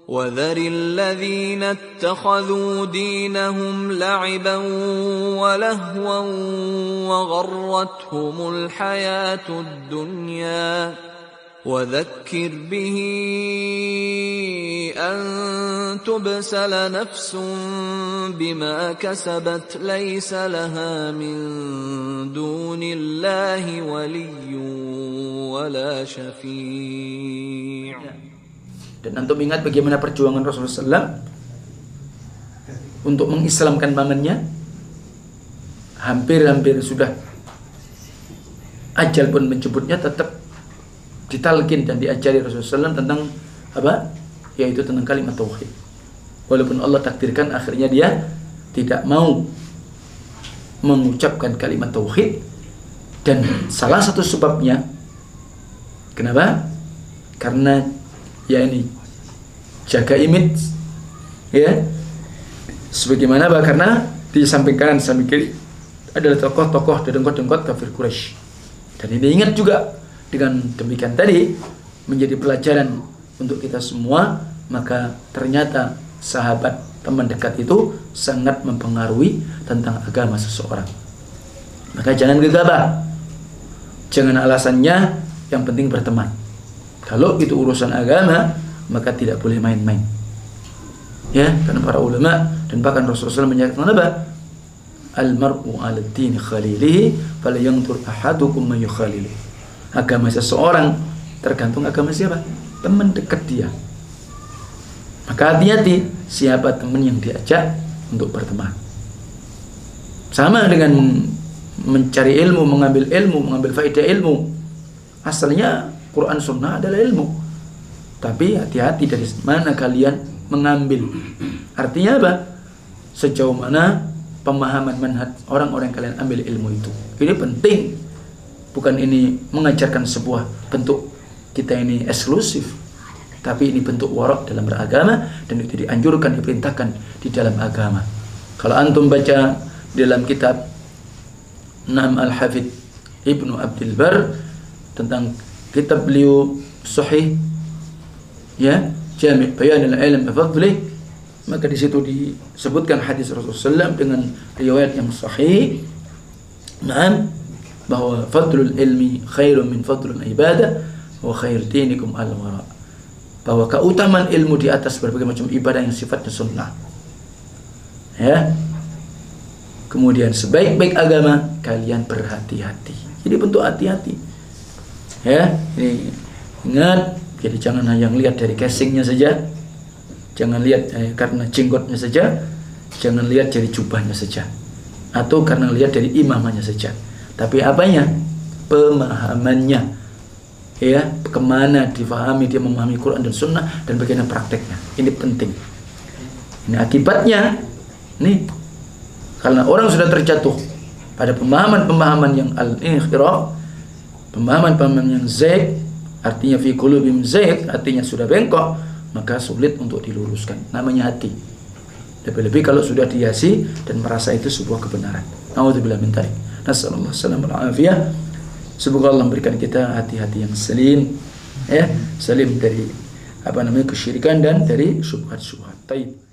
وَذَرِ الَّذِينَ اتَّخَذُوا دِينَهُمْ لَعِبًا وَلَهْوًا وَغَرَّتْهُمُ الْحَيَاةُ الدُّنْيَا وَذَكِّرْ بِهِ أَن تُبْسَلَ نَفْسٌ بِمَا كَسَبَتْ لَيْسَ لَهَا مِن دُونِ اللَّهِ وَلِيٌّ وَلَا شَفِيعٌ. Dan antum ingat bagaimana perjuangan Rasulullah SAW untuk mengislamkan pamannya. Hampir-hampir sudah ajal pun menjemputnya, tetap ditalkin dan diajari Rasulullah SAW tentang apa? Yaitu tentang kalimat tauhid. Walaupun Allah takdirkan akhirnya dia tidak mau mengucapkan kalimat tauhid, dan salah satu sebabnya kenapa? Karena ya ini jaga image, ya. Sebagaimana apa? Karena di samping kanan samping kiri adalah tokoh-tokoh dedengkot-dengkot kafir Quraisy. Dan ini ingat juga, dengan demikian tadi menjadi pelajaran untuk kita semua. Maka ternyata sahabat, teman dekat itu sangat mempengaruhi tentang agama seseorang. Maka jangan gegabah, jangan alasannya yang penting berteman. Kalau itu urusan agama, maka tidak boleh main-main. Ya, karena para ulama dan bahkan Rasulullah SAW menyatakan apa? Al-mar'u 'ala dini khalilihi falyanzur ahadukum may yukhalilihi. Agama seseorang tergantung agama siapa? Teman dekat dia. Maka hati-hati siapa teman yang diajak untuk berteman. Sama dengan mencari ilmu, mengambil faedah ilmu. Asalnya Quran Sunnah adalah ilmu, tapi hati-hati dari mana kalian mengambil. Artinya apa? Sejauh mana pemahaman manhaj orang-orang yang kalian ambil ilmu itu. Ini penting. Bukan ini mengajarkan sebuah bentuk kita ini eksklusif, tapi ini bentuk warok dalam beragama, dan itu dianjurkan, diperintahkan di dalam agama. Kalau antum baca dalam kitab Naam Al-Hafidh Ibnu Abdul Bar tentang kitab beliau Sahih, ya, Jami' Bayanil Ilm wa Fadlih, maka di situ disebutkan hadis Rasulullah SAW dengan riwayat yang sahih. Naam, bahwa fadlul ilmi khairun min fadlul ibadah wa khair dinikum al-wara. Bahwa keutamaan ilmu di atas berbagai macam ibadah yang sifatnya sunnah. Ya. Kemudian sebaik-baik agama kalian berhati-hati. Jadi bentuk hati-hati. Ya, ini ingat, jadi jangan hanya lihat dari casingnya saja. Jangan lihat karena jenggotnya saja. Jangan lihat dari jubahnya saja. Atau karena lihat dari imamahnya saja. Tapi apanya? Pemahamannya. Ya, kemana difahami dia memahami Quran dan Sunnah, dan bagaimana prakteknya. Ini penting. Ini akibatnya. Nih, karena orang sudah terjatuh pada pemahaman-pemahaman yang al-inhiraf, pemahaman-pemahaman yang zaid, artinya fi qulubihim zaid, artinya sudah bengkok, maka sulit untuk diluruskan. Namanya hati. Lebih-lebih kalau sudah dihiasi dan merasa itu sebuah kebenaran. Nauzubillah min dzalik. Nasallallahu alaihi wasallam. Semoga Allah memberikan kita hati-hati yang salim, ya, salim dari kesyirikan dan dari syubhat-syubhat. Taib.